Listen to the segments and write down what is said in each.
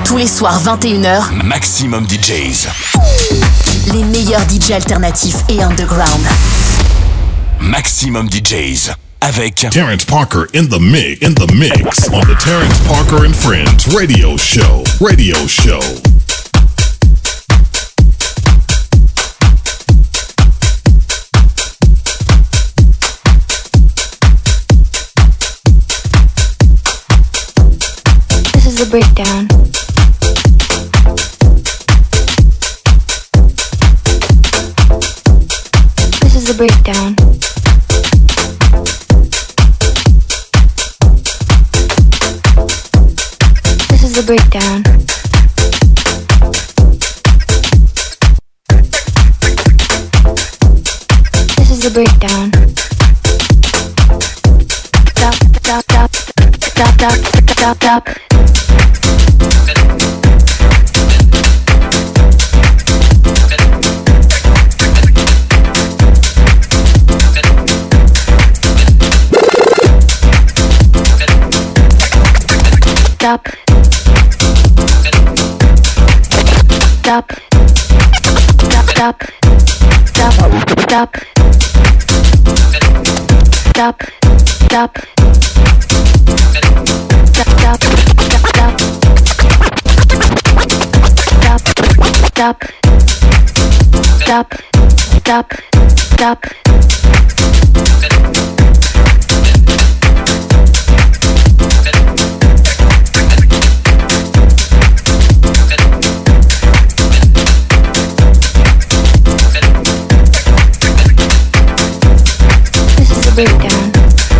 Tous les soirs 21h, Maximum DJs. Les meilleurs DJ alternatifs et underground. Maximum DJs avec Terrence Parker in the mix on the Terrence Parker and Friends radio show. This is the breakdown. This is the breakdown. This is the breakdown. This is the breakdown. Stop, stop, stop, stop, stop, stop, stop. Stop. Stop. Stop. Stop. Stop. Stop. Stop. Stop. Stop. Stop. Stop. Stop. Stop. Breakdown.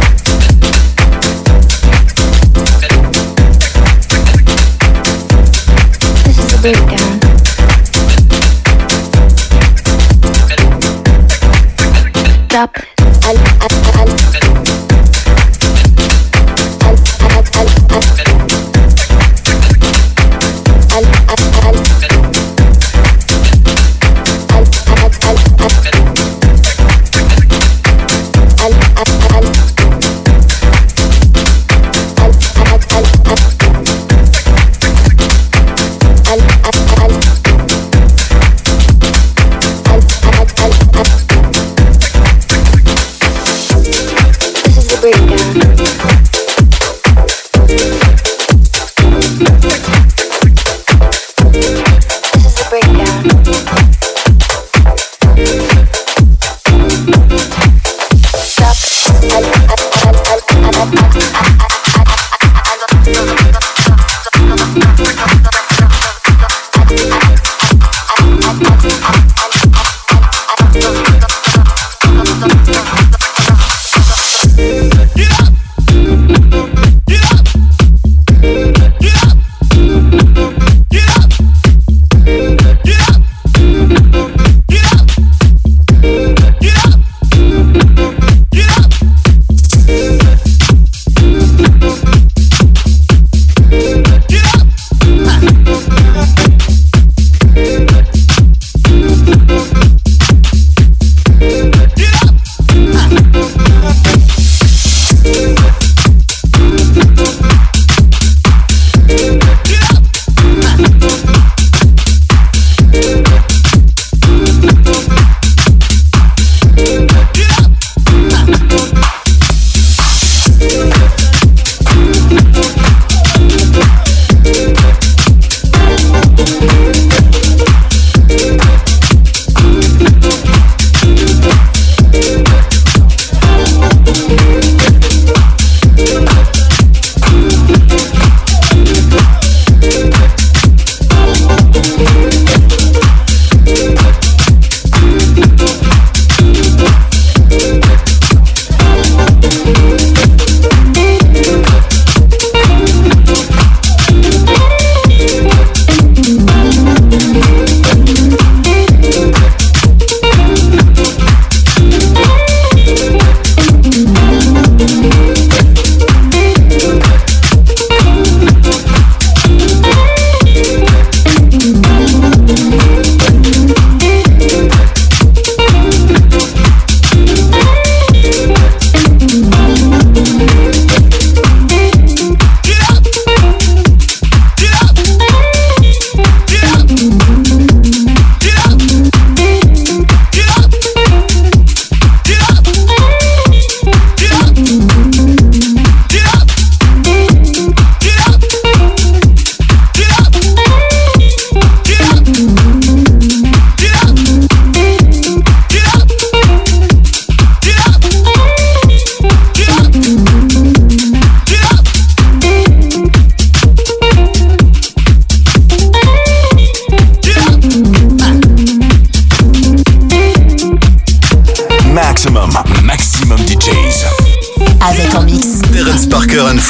This is the breakdown. Stop.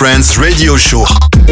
Friends radio show.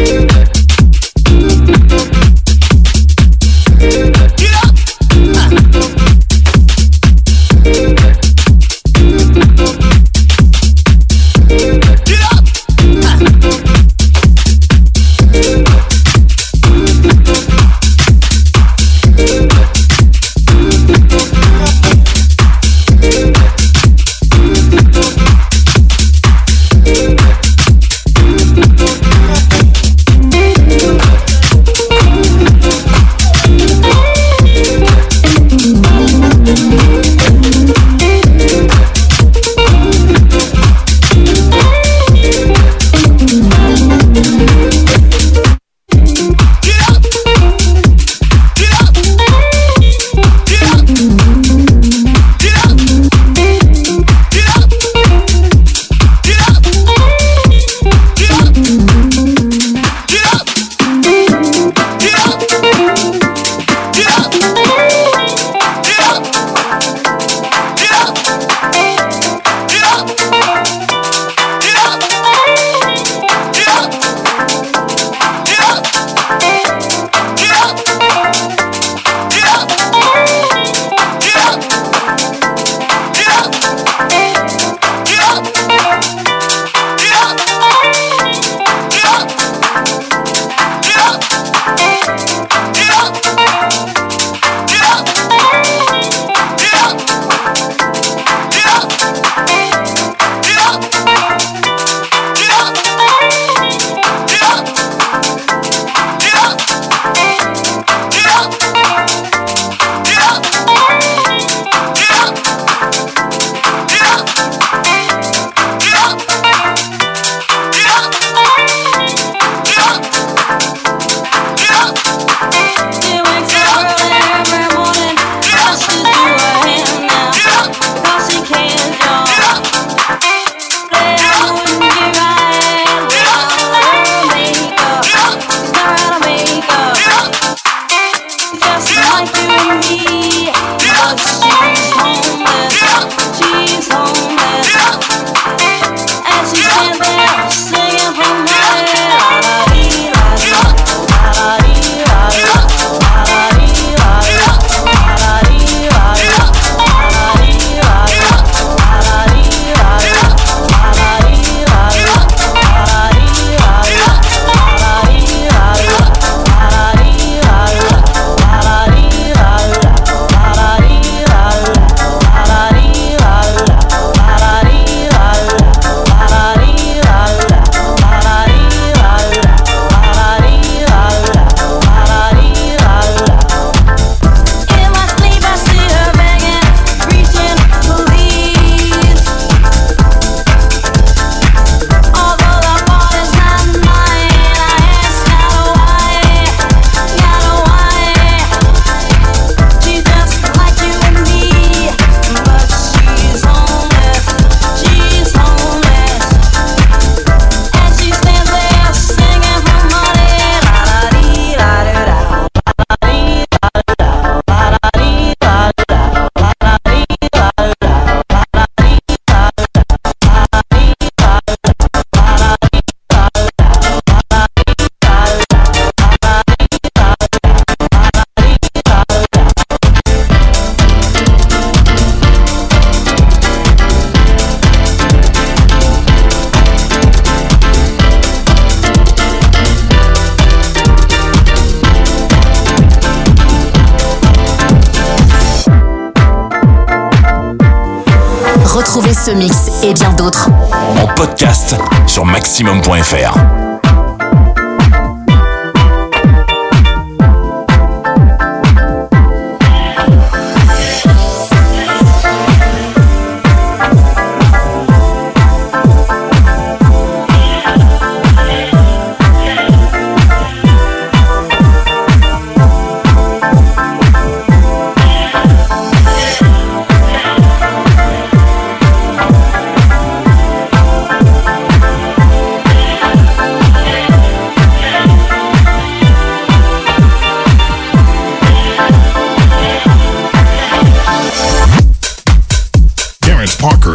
Retrouvez ce mix et bien d'autres en podcast sur maximum.fr.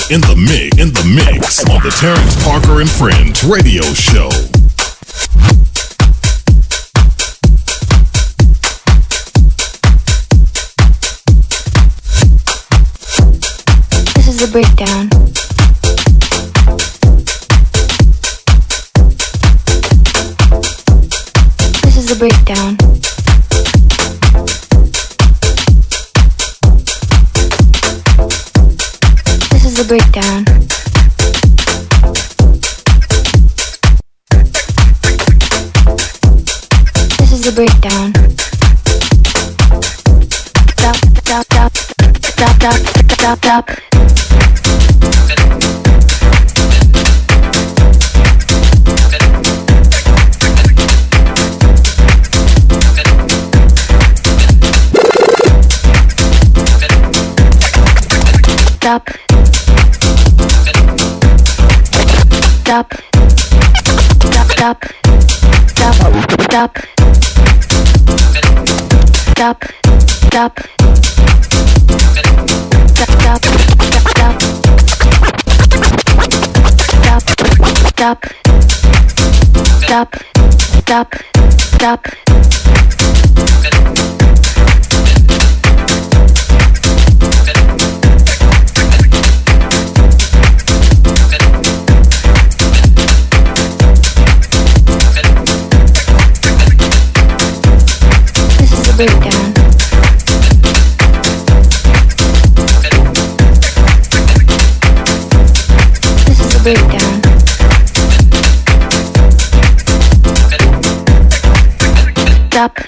in the mix on the Terrence Parker and Friends radio show. This is the breakdown. This is the breakdown. This is the breakdown. This is the breakdown. Stop, stop, stop, stop, stop, stop, stop. Stop. Stop. Stop. Stop. Stop. Stop. Stop. Stop. Stop. Stop. Stop. Stop. Breakdown. This is a breakdown. Stop.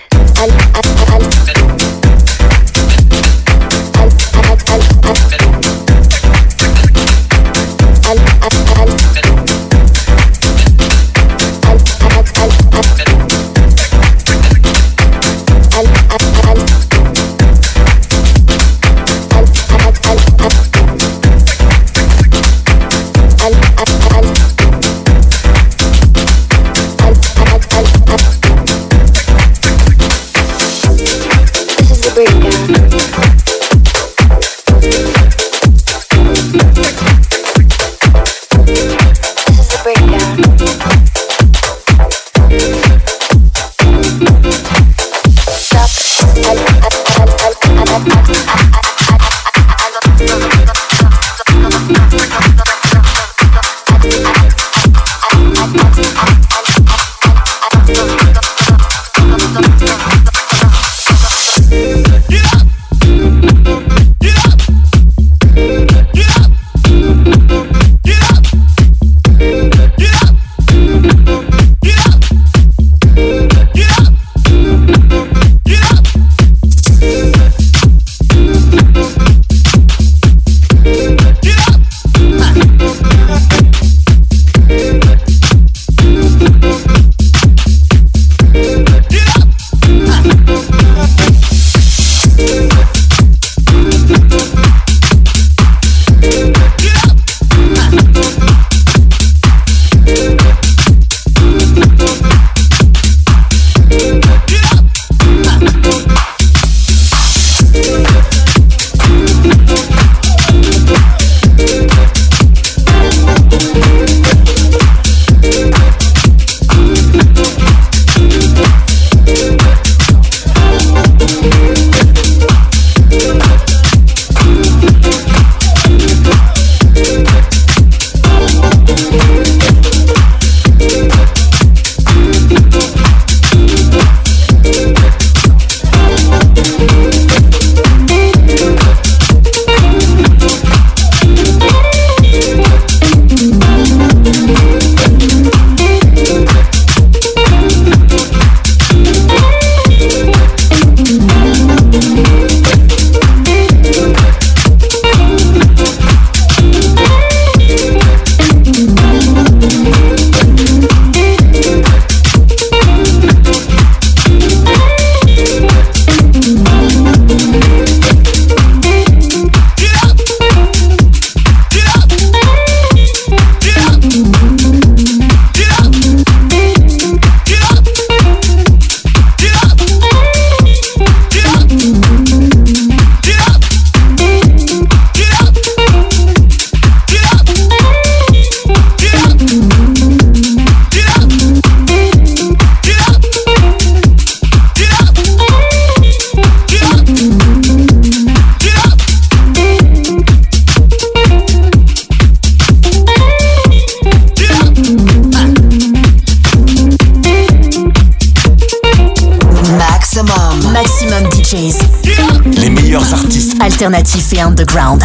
Maximum DJs. Les meilleurs artistes Alternatifs et underground.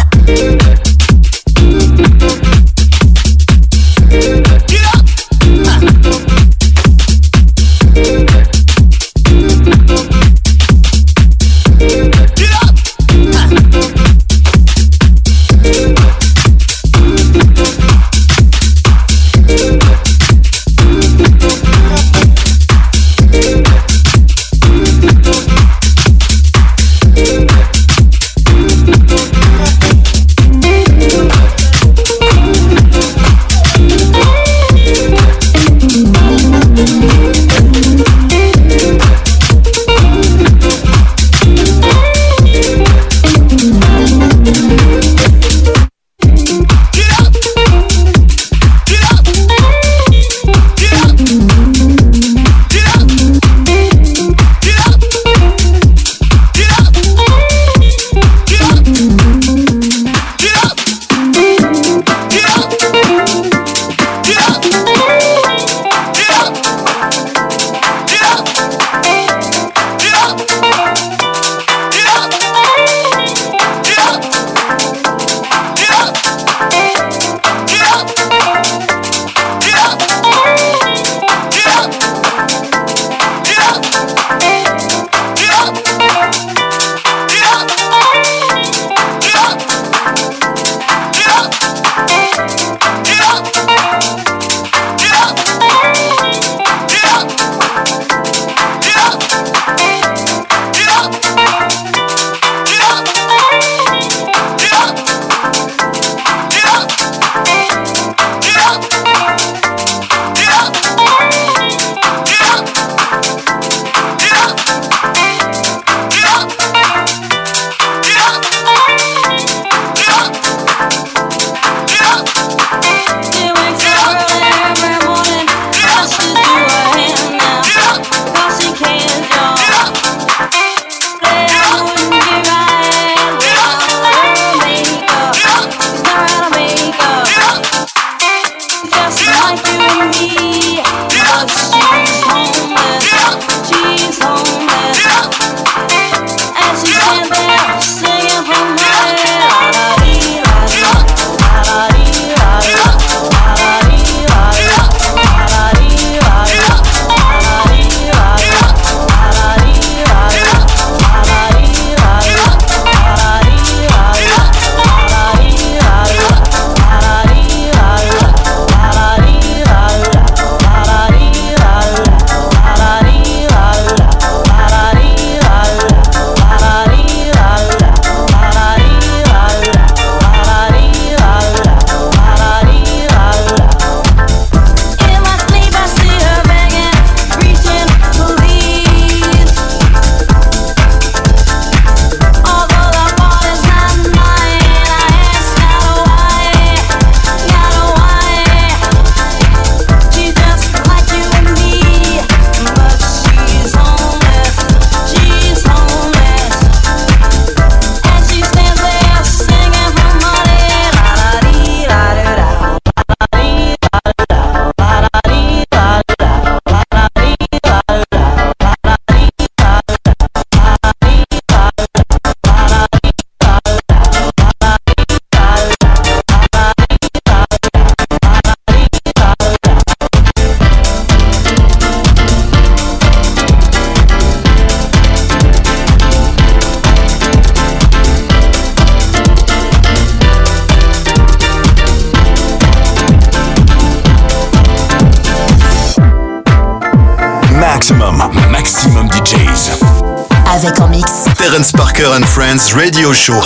Maximum DJs. Avec en mix Terence Parker and Friends Radio Show.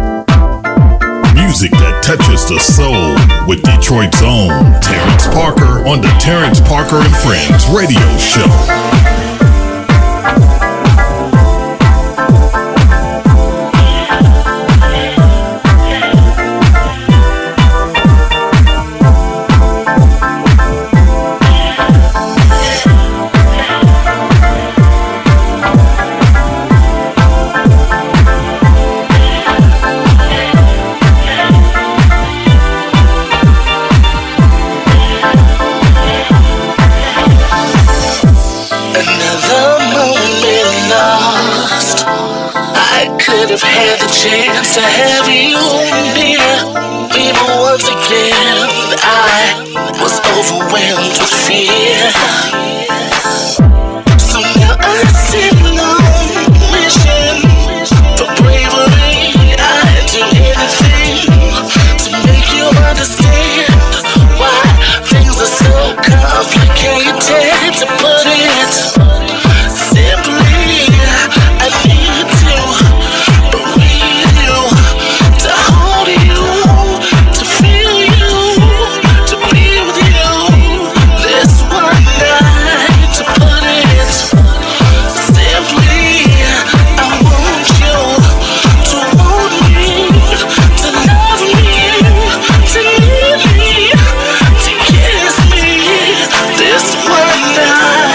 Music that touches the soul with Detroit's own Terence Parker on the Terence Parker and Friends Radio Show. And should have had the chance to have you near me, but once again I was overwhelmed with fear. So now I sit alone, wishing for bravery. I'd do anything to make you understand why things are so complicated. To put it simply, I need to breathe you, to hold you, to feel you, to be with you. This one night, to put it simply, I want you to want me, to love me, to need me, to kiss me. This one night.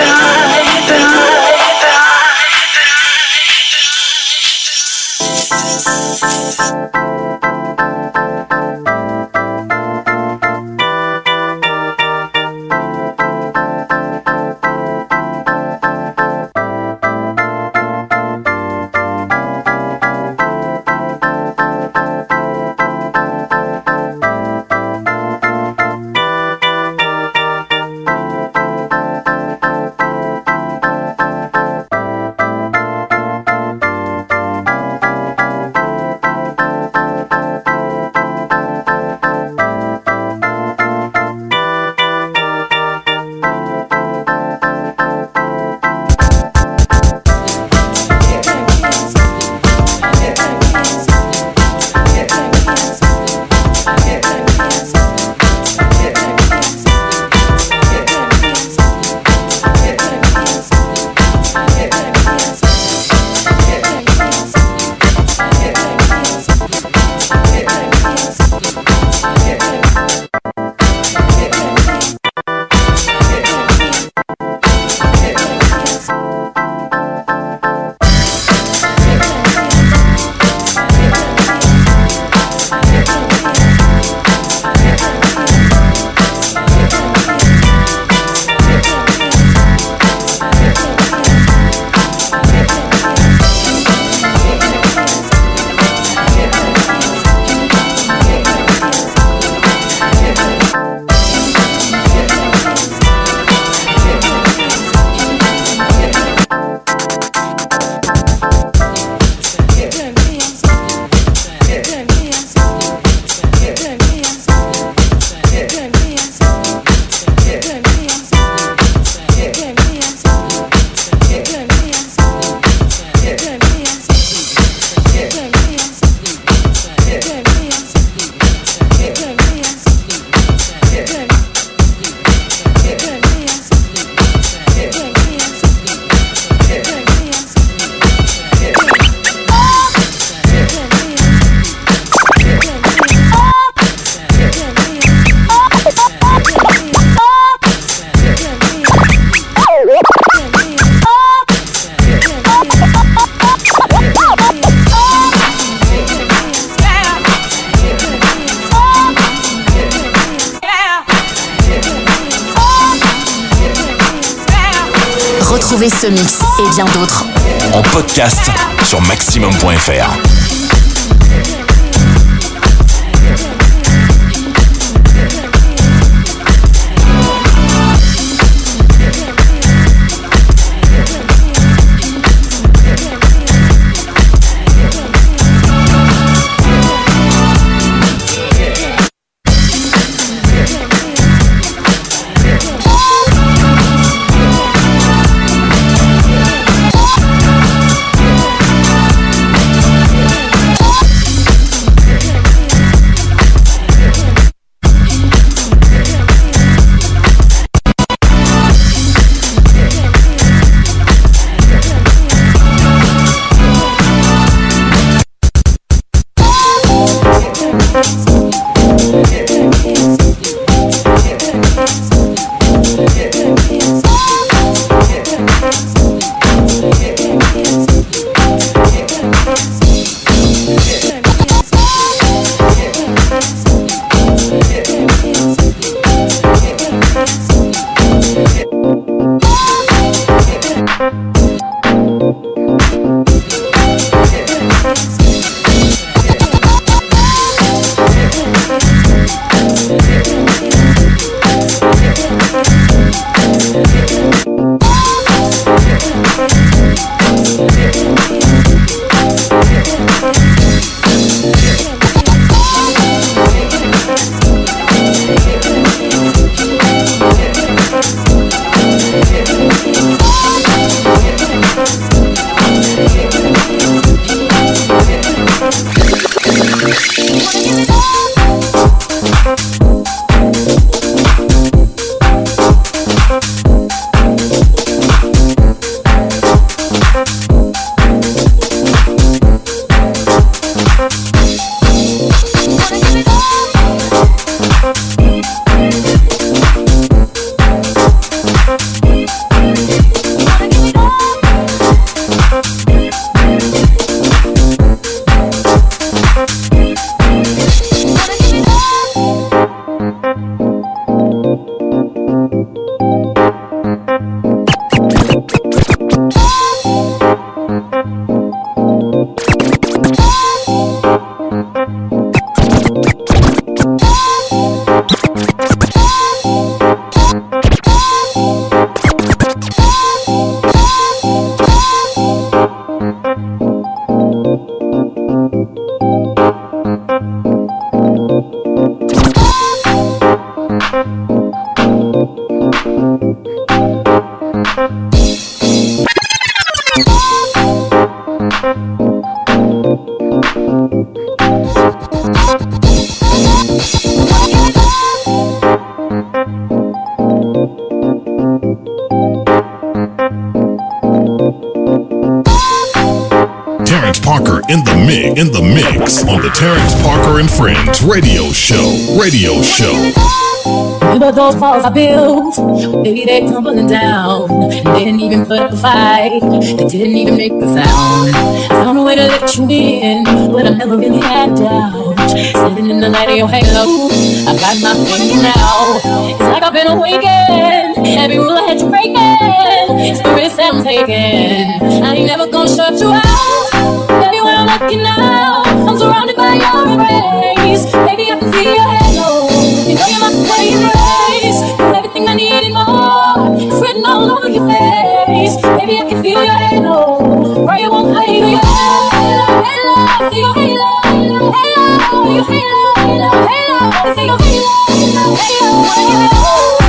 Retrouvez ce mix et bien d'autres en podcast sur maximum.fr. Parker in the mix on the Terrence Parker and Friends Radio Show. Remember those walls I built? Maybe they tumbling down. They didn't even put up a fight. They didn't even make a sound. I found a way to let you in, but I never really had a doubt. Sitting in the light of your halo, I got my thing now. It's like I've been awakened. Every rule I had you breaking, spirits that I'm taking. I ain't never gonna shut you out. Everywhere I'm looking now, I'm surrounded by your embrace. Baby, I can see your halo. You know you're my saving grace. You're everything I need and more. It's written all over your face. Baby, I can feel your halo. Pray you won't fade. Your halo, halo, see your halo, halo, halo, your halo, halo, halo, see your halo, halo, halo.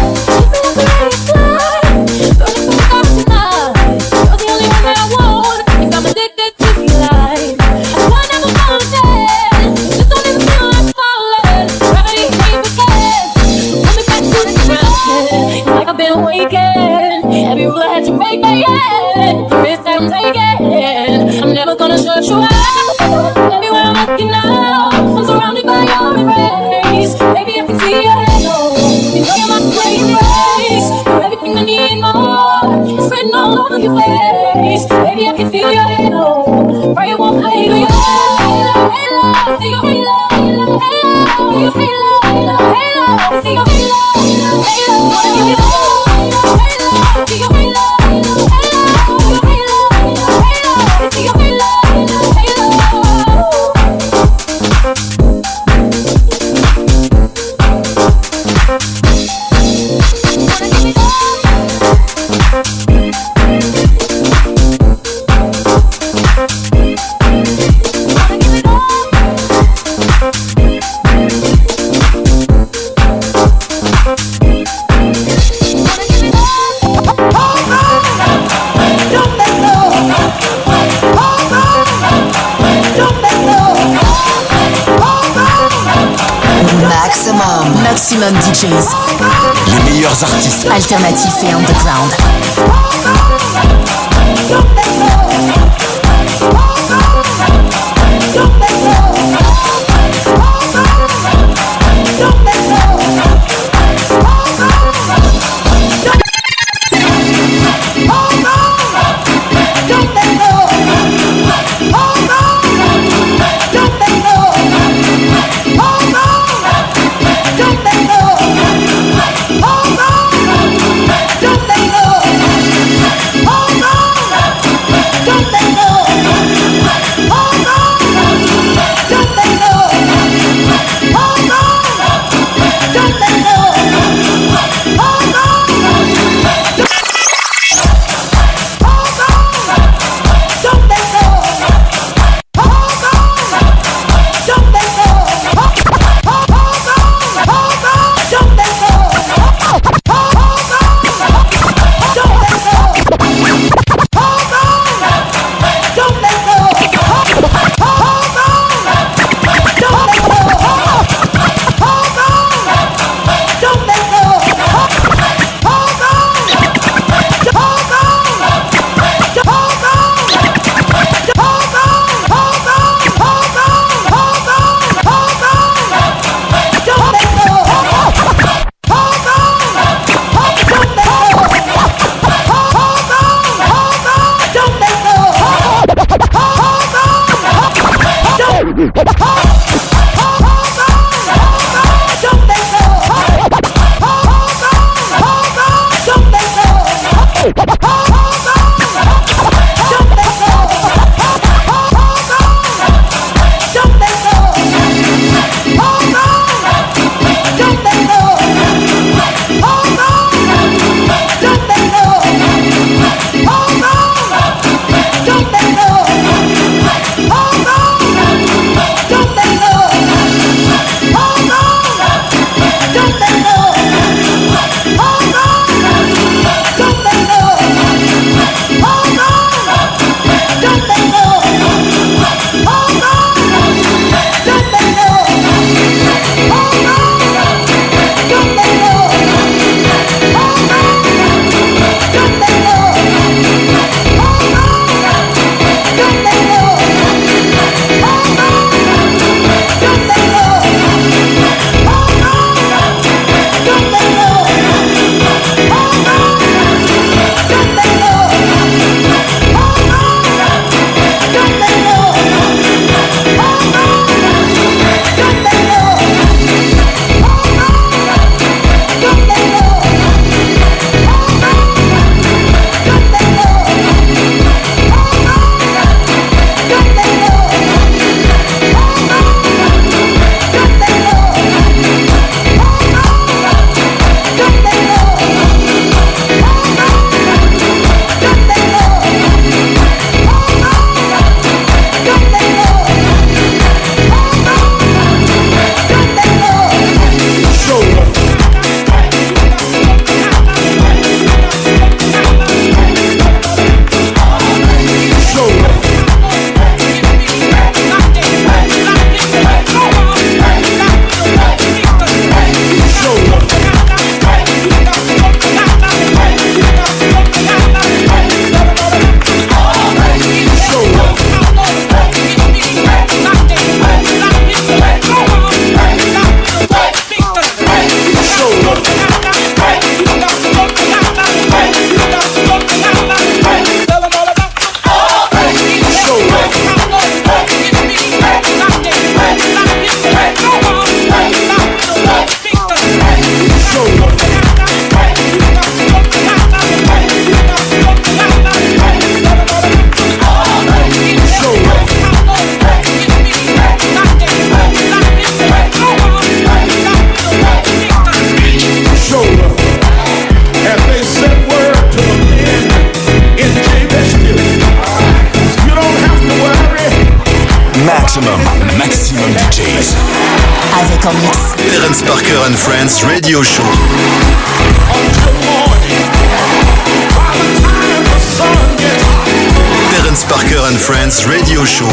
I'm never gonna shut you out. Everywhere I'm looking now, I'm surrounded by your embrace. Baby, I can see your halo. You know you're my saving grace. You're everything I need and more. It's written all over your face. Baby, I can feel your halo. Pray it won't fade. Your halo, halo, see your halo, halo, halo, your halo, halo, halo, see your halo, halo, halo, halo, see your halo. Maximum DJs. Les meilleurs artistes Alternatifs et underground. en mix. Terence Parker and Friends Radio Show. Terence Parker and Friends Radio Show.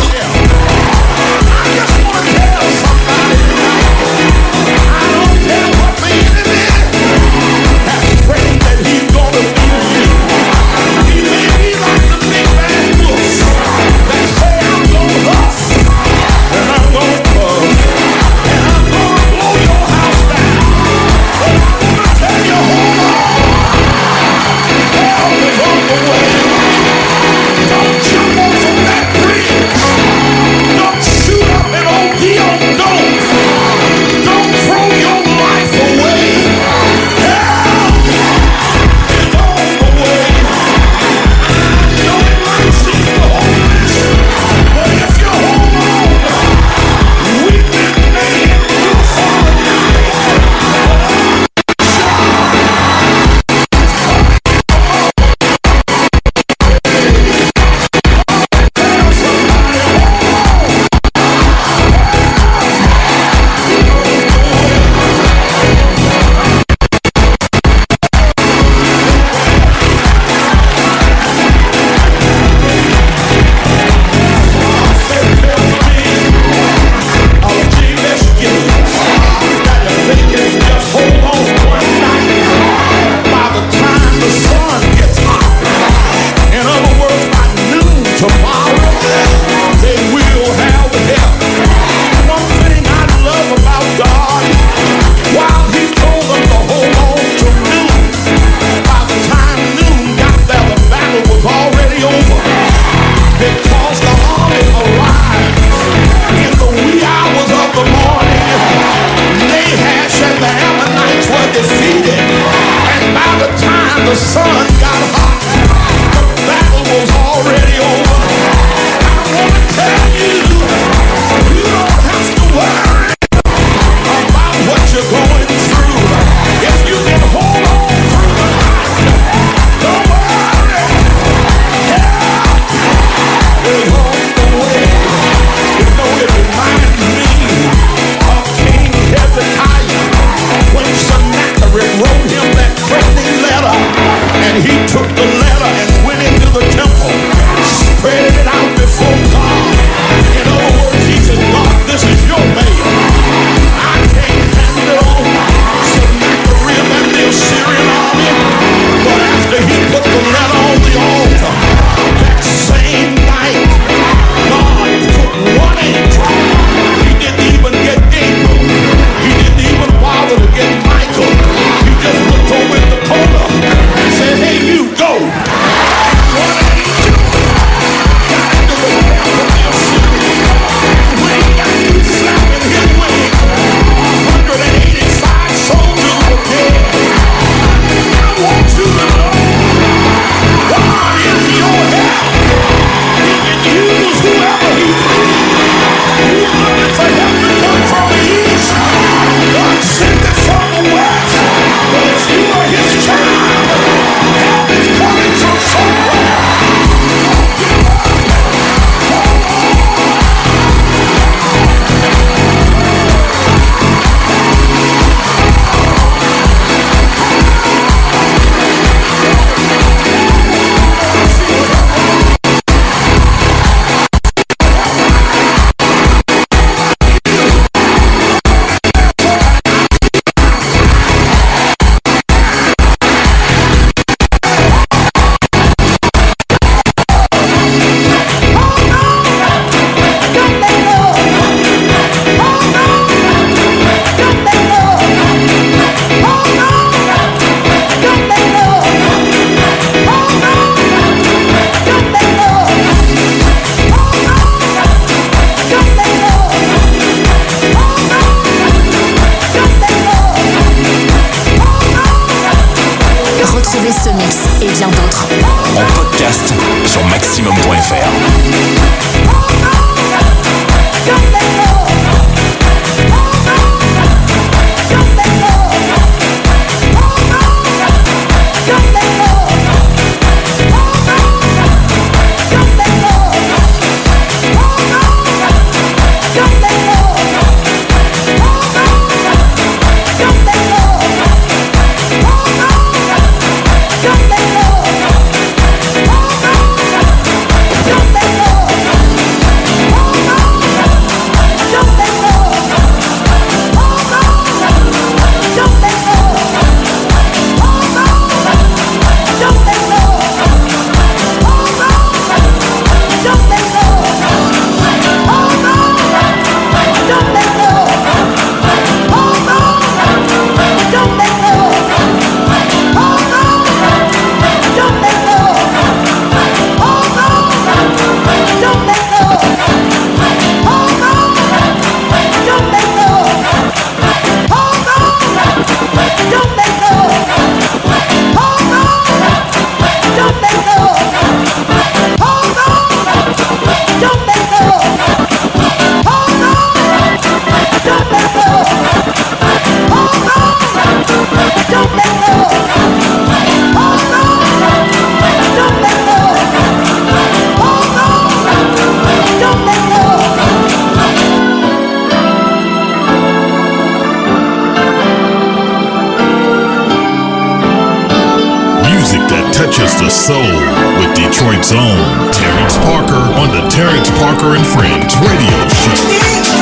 Detroit's own Terrence Parker on the Terrence Parker and Friends radio show.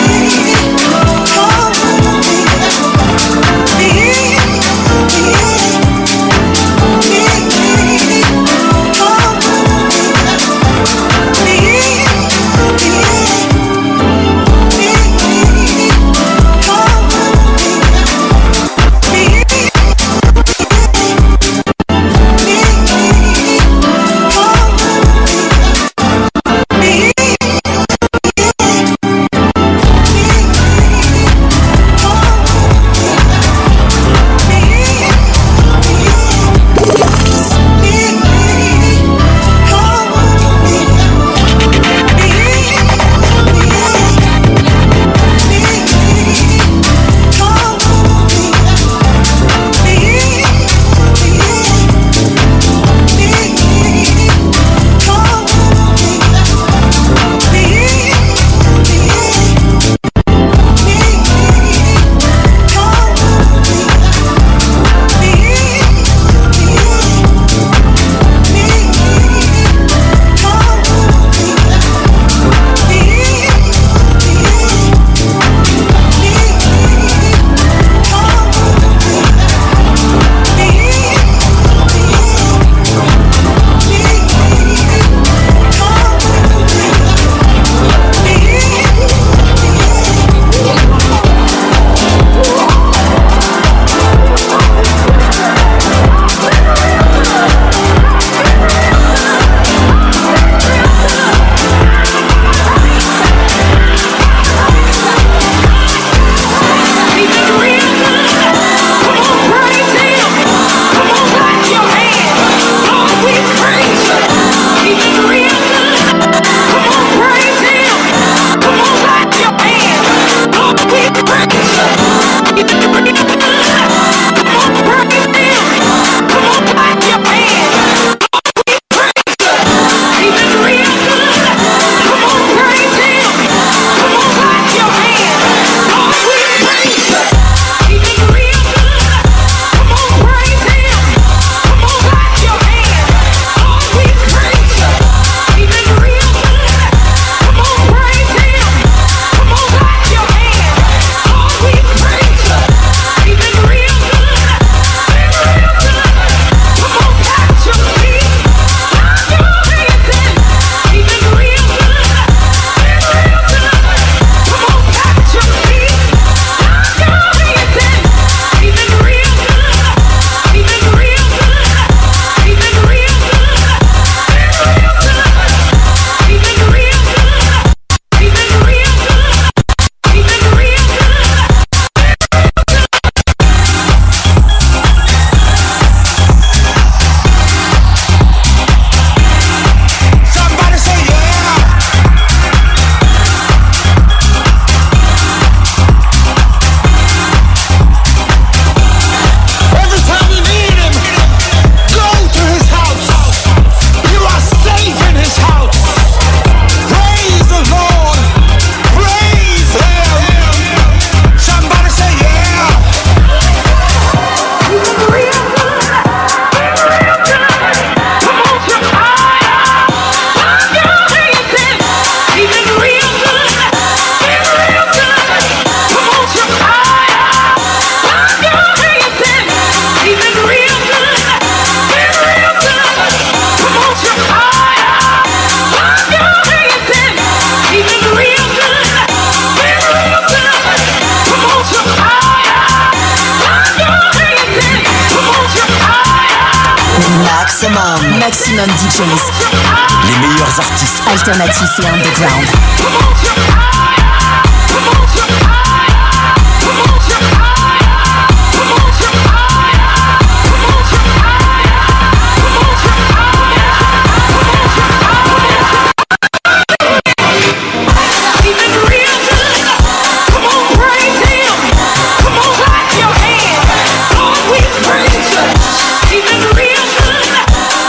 Maximum DJs. Les meilleurs artistes Alternatifs et underground.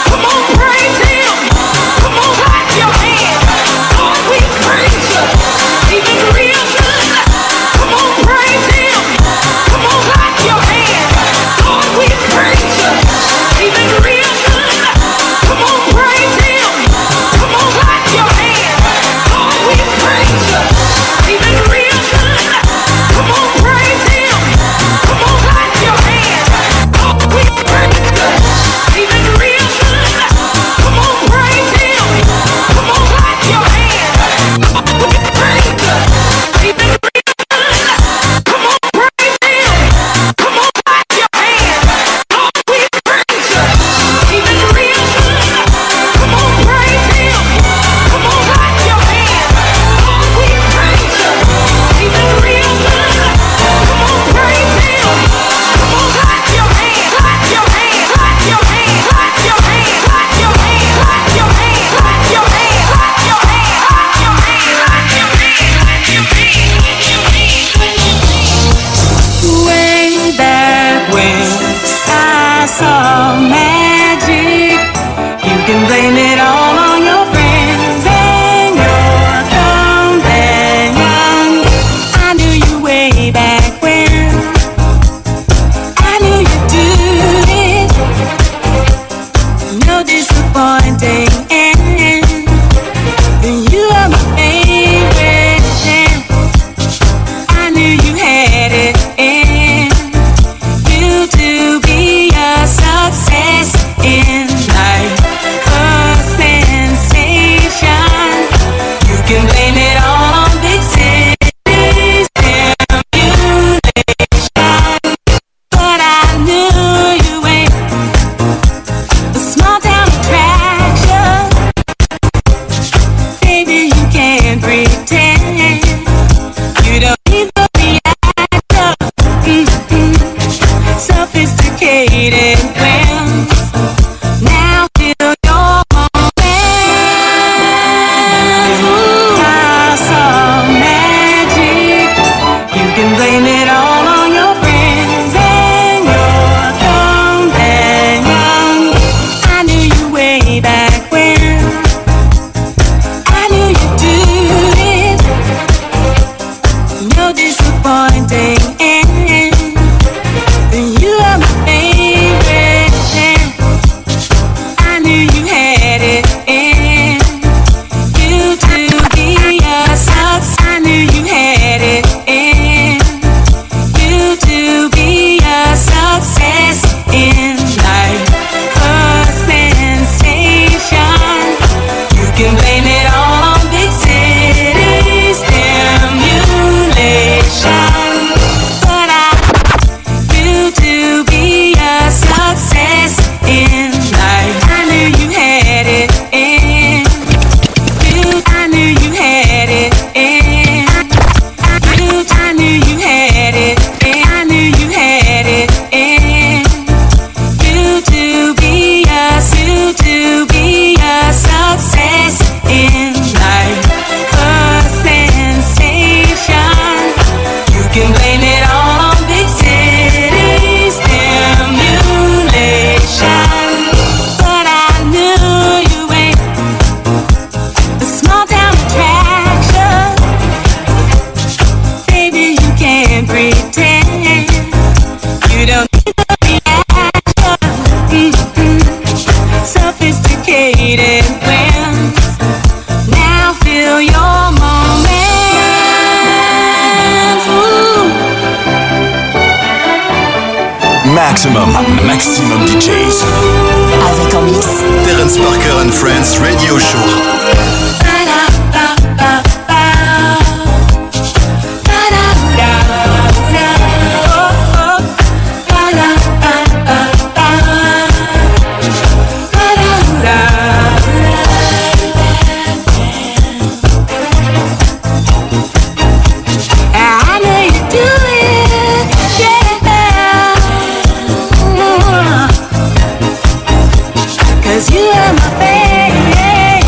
Come on, blame it all on big city stimulation, but I knew to be a success in life. I knew you had it in. I knew you had it in. I knew you had it in. I knew you had it in. You to be a success in life, a sensation. You can blame it all on big city stimulation, but I knew you ain't a small town attraction. Baby, you can't pretend. You don't need the reaction. Sophisticated wins. Now feel your moments. Ooh. Maximum DJs. Avec en mix Terence Parker and Friends Radio Show. I know you do it, yeah. 'Cause you are my favorite.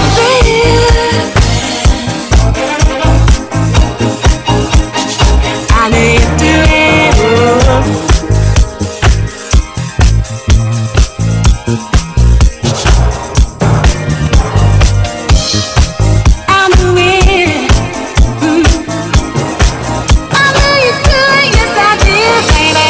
I know you do it. I'm doing it. I know you do it, yes I do, baby.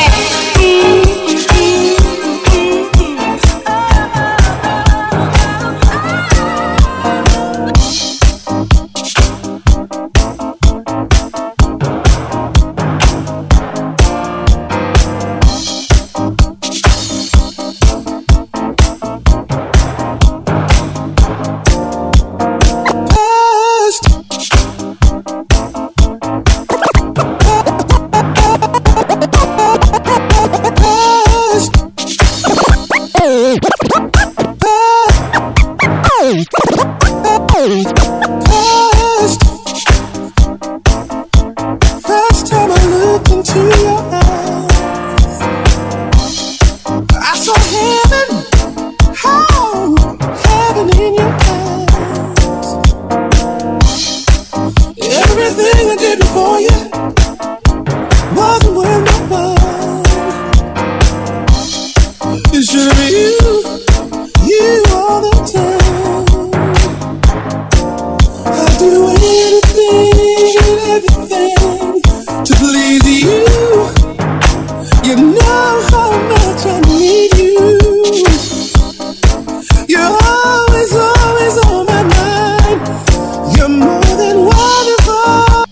First time I looked into your eyes, I saw heaven, oh, heaven in your eyes. Everything I did before you wasn't worth my while. It should be you all the time. I'd do anything and everything to please you. You know how much I need you. You're always on my mind. You're more than wonderful,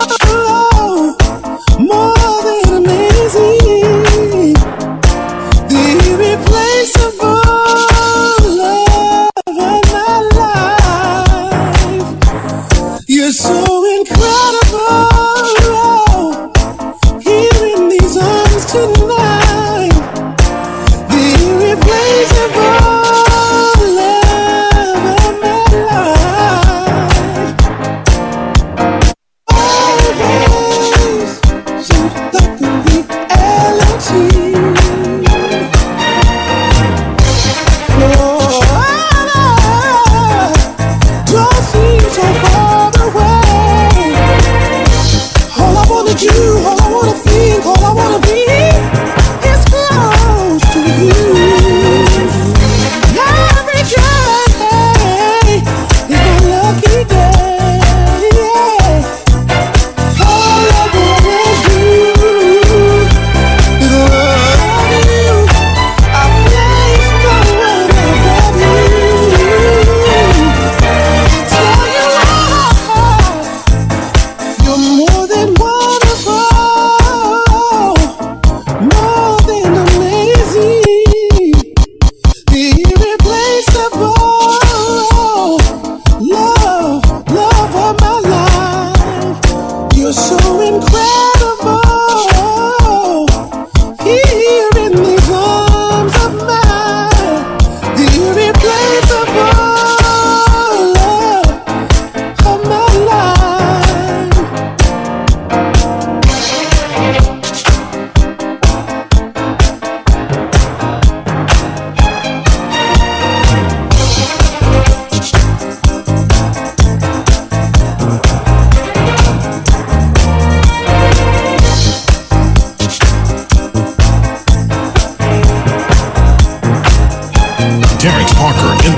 more than amazing, the irreplaceable love of my life. You're so incredible. Here in these arms tonight, the irreplaceable love of my life. Always seems like the reality. Oh, don't seem so far away.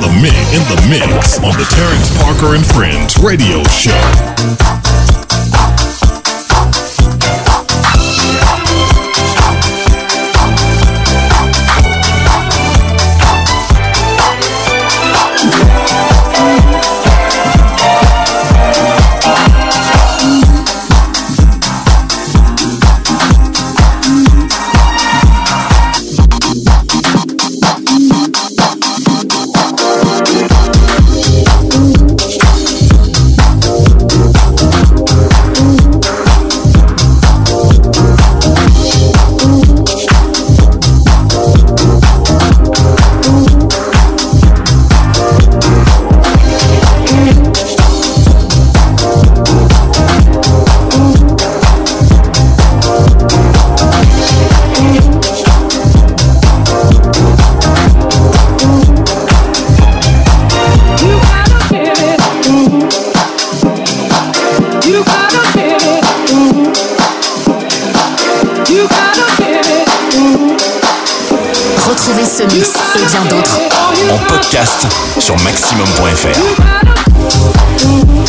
mix on the Terrence Parker and Friends radio show. Retrouvez ce mix et bien d'autres en podcast sur maximum.fr.